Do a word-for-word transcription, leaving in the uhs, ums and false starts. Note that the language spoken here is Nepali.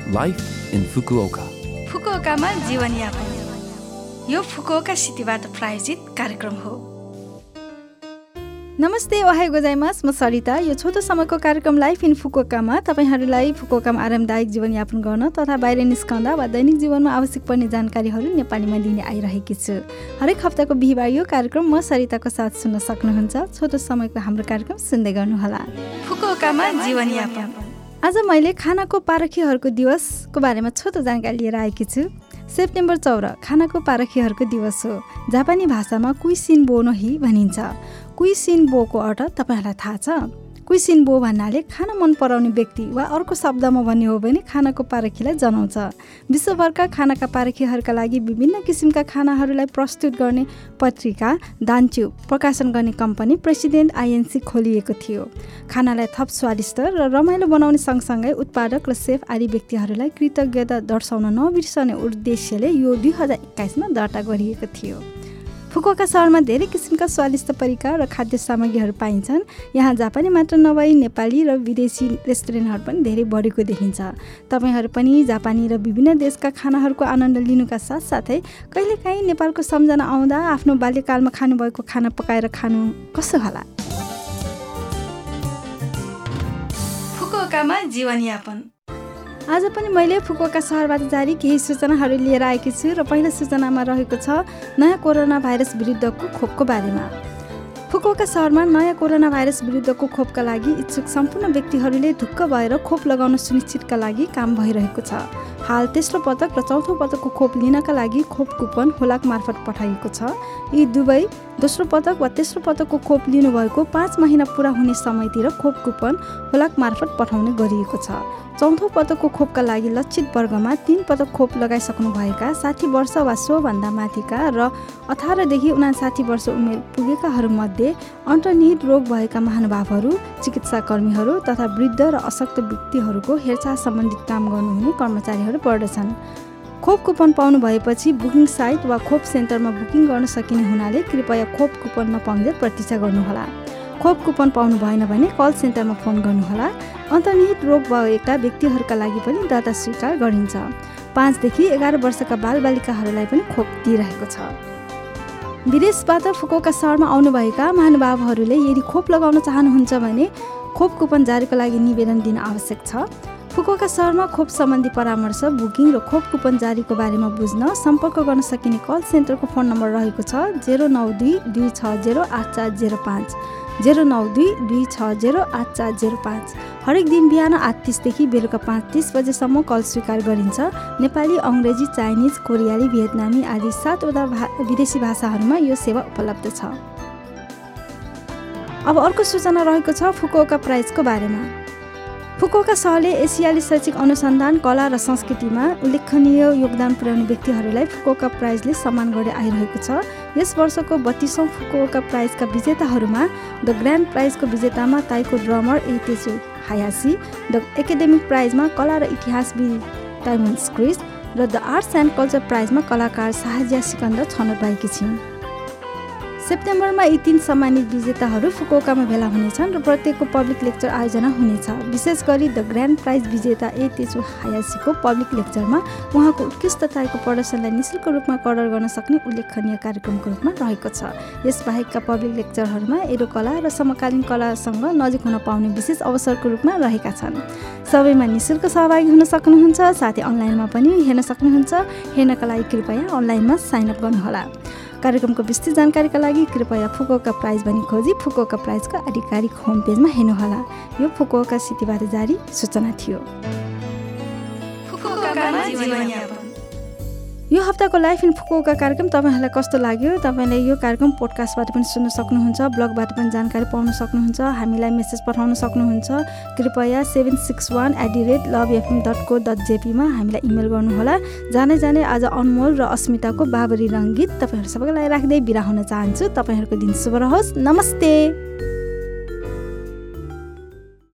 Life in Fukuoka. फुकुओकामा जीवनयापन यो फुकुओका सिटीबाट प्रायोजित कार्यक्रम हो। नमस्ते, ओहाई गोजाइमास, म सरिता। यो छोटो समयको कार्यक्रम लाइफ इन फुकुओकामा तपाईहरूलाई फुकुओकामा आरामदायक जीवनयापन गर्न तथा बाहिर निस्कँदा वा दैनिक जीवनमा आवश्यक पर्ने जानकारीहरू नेपालीमा लिने आइरहेकी छु। हरेक हप्ताको बिहिबार यो कार्यक्रम म सरिताको साथ सुन्न सक्नुहुन्छ। छोटो समयको हाम्रो कार्यक्रम सुन्दै गर्नुहोला। फुकुओकामा जीवनयापन। आज मैले खानाको पारखीहरूको दिवसको बारेमा छोटो जानकारी लिएर आएकी छु। सेप्टेम्बर चौध खानाको पारखीहरूको दिवस हो। जापानी भाषामा कुइसिनबो नो हि भनिन्छ। कुइसिनबोको अर्थ तपाईँहरूलाई थाहा छ? कुइसिनबो भन्नाले खाना मन पराउने व्यक्ति वा अर्को शब्दमा भन्ने हो भने खानाको पारखीलाई जनाउँछ। विश्वभरका खानाका पारखीहरूका लागि विभिन्न किसिमका खानाहरूलाई प्रस्तुत गर्ने पत्रिका दान्च्यु प्रकाशन गर्ने कम्पनी प्रेसिडेन्ट आइएनसी खोलिएको थियो। खानालाई थप स्वादिष्ट र रमाइलो बनाउने सँगसँगै उत्पादक र सेफ आदि व्यक्तिहरूलाई कृतज्ञता दर्शाउन नबिर्सने उद्देश्यले यो दुई हजार एक्काइसमा दर्ता गरिएको थियो। फुकुओका सहरमा धेरै किसिमका स्वादिष्ट परिकार र खाद्य सामग्रीहरू पाइन्छन्। यहाँ जापानी मात्र नभई नेपाली र विदेशी रेस्टुरेन्टहरू पनि धेरै बढेको देखिन्छ। तपाईँहरू पनि जापानी र विभिन्न देशका खानाहरूको आनन्द लिनुका साथसाथै कहिलेकाहीँ नेपालको सम्झना आउँदा आफ्नो बाल्यकालमा खानुभएको खाना पकाएर खानु कसो होला? फुकुओकामा जीवनयापन। आज पनि मैले फुकुओका सहरबाट जारी केही सूचनाहरू लिएर आएकी छु र पहिलो सूचनामा रहेको छ नयाँ कोरोना भाइरस विरुद्धको खोपको बारेमा। फुकुओका सहरमा नयाँ कोरोना भाइरस विरुद्धको खोपका लागि इच्छुक सम्पूर्ण व्यक्तिहरूले ढुक्क भएर खोप लगाउन सुनिश्चितका लागि काम भइरहेको छ। हाल तेस्रो पटक र चौथो पटकको खोप लिनका लागि खोप कुपन होलाक मार्फत पठाइएको छ। यी दुवै दोस्रो पटक वा तेस्रो पटकको खोप लिनुभएको पाँच महिना पुरा हुने समयतिर खोप कुपन होलाक मार्फत पठाउने गरिएको छ। चौथो पटकको खोपका लागि लक्षित वर्गमा तीन पटक खोप लगाइसक्नुभएका साठी वर्ष वा सोभन्दा माथिका र अठारदेखि उनासाठी वर्ष उमेर पुगेकाहरूमध्ये अन्तर्निहित रोग भएका महानुभावहरू, चिकित्साकर्मीहरू तथा वृद्ध र अशक्त व्यक्तिहरूको हेरचाह सम्बन्धित काम गर्नुहुने कर्मचारीहरू पर्दछन्। खोप कुपन पाउनु भएपछि बुकिङ साइट वा खोप सेन्टरमा बुकिङ गर्न सकिने हुनाले कृपया खोप कुपन नपाउँदै प्रतीक्षा गर्नुहोला। खोप कुपन पाउनु भएन भने कल सेन्टरमा फोन गर्नुहोला। अन्तर्निहित रोग भएका व्यक्तिहरूका लागि पनि दर्ता स्वीकार गरिन्छ। पाँचदेखि एघार वर्षका बालबालिकाहरूलाई पनि खोप दिइरहेको छ। विदेशबाट फुकुओका सहरमा आउनुभएका महानुभावहरूले यदि खोप लगाउन चाहनुहुन्छ भने खोप कुपन जारीको लागि निवेदन दिन आवश्यक छ। फुकुओका सहरमा खोप सम्बन्धी परामर्श, बुकिङ र खोप कुपन जारीको बारेमा बुझ्न सम्पर्क गर्न सकिने कल सेन्टरको फोन नम्बर रहेको छ जेरो नौ दुई दुई छ जेरो आठ चार जेरो पाँच जेरो नौ दुई दुई छ जेरो आठ चार जेरो पाँच। हरेक दिन बिहान आठ तिसदेखि बेलुका पाँच तिस बजेसम्म कल स्वीकार गरिन्छ। नेपाली, अङ्ग्रेजी, चाइनिज, कोरियाली, भियतनामी आदि सातवटा भा विदेशी भाषाहरूमा यो सेवा उपलब्ध छ। अब अर्को सूचना रहेको छ फुकुओका प्राइजको बारेमा। फुकुओका सहरले एसियाली शैक्षिक अनुसन्धान, कला र संस्कृतिमा उल्लेखनीय योगदान पुर्याउने व्यक्तिहरूलाई फुकुओका प्राइजले सम्मान गर्दै आइरहेको छ। यस वर्षको बत्तीसौँ Fukuoka प्राइजका विजेताहरूमा the grand प्राइजको विजेतामा ताइको drummer एतेसु हायासी, the academic प्राइजमा कला र इतिहासविद टाइमोन स्क्रिस र द आर्ट्स एन्ड कल्चर प्राइजमा कलाकार साहजिया सिकन्दर छनौट भएकी छिन्। सेप्टेम्बरमा यी तीन सम्मानित विजेताहरू फुकुओकामा भेला हुनेछन् र प्रत्येकको पब्लिक लेक्चर आयोजना हुनेछ। विशेष गरी द ग्रान्ड प्राइज विजेता ए तेचु हायासीको पब्लिक लेक्चरमा उहाँको उत्कृष्टताको प्रदर्शनलाई निःशुल्क रूपमा कदर गर्न सक्ने उल्लेखनीय कार्यक्रमको रूपमा रहेको छ। यसबाहेकका पब्लिक लेक्चरहरूमा एडो कला र समकालीन कलासँग नजिक हुन पाउने विशेष अवसरको रूपमा रहेका छन्। सबैमा निःशुल्क सहभागी हुन सक्नुहुन्छ। साथै अनलाइनमा पनि हेर्न सक्नुहुन्छ। हेर्नका लागि कृपया अनलाइनमा साइन अप गर्नुहोला। कार्यक्रमको विस्तृत जानकारीका लागि कृपया फुकुओका प्राइज भनी खोजी फुकुओका प्राइजको आधिकारिक होम पेजमा हेर्नुहोला। यो फुकुओका सिटीबाट जारी सूचना थियो। यो हप्ताको लाइफ इन फुकुओका कार्यक्रम तपाईँहरूलाई कस्तो लाग्यो? तपाईँले यो कार्यक्रम पोडकास्टबाट पनि सुन्न सक्नुहुन्छ, ब्लगबाट पनि जानकारी पाउन सक्नुहुन्छ। हामीलाई मेसेज पठाउन सक्नुहुन्छ। कृपया seven six one at the rate love FM dot को डट जेपीमा हामीलाई इमेल गर्नुहोला। जाने जाने आज अनमोल र अस्मिताको बाबरी रङ्गीत तपाईँहरू सबैलाई राख्दै बिदा हुन चाहन्छु। तपाईँहरूको दिन शुभ रहोस्। नमस्ते।